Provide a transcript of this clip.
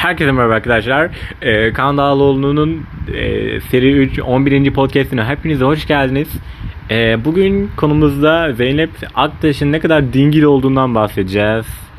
Herkese merhaba arkadaşlar. Kaan Dağlıoğlu'nun seri 3 11. podcastine hepinize hoş geldiniz. Bugün konumuzda Zeynep Aktaş'ın ne kadar dingil olduğundan bahsedeceğiz.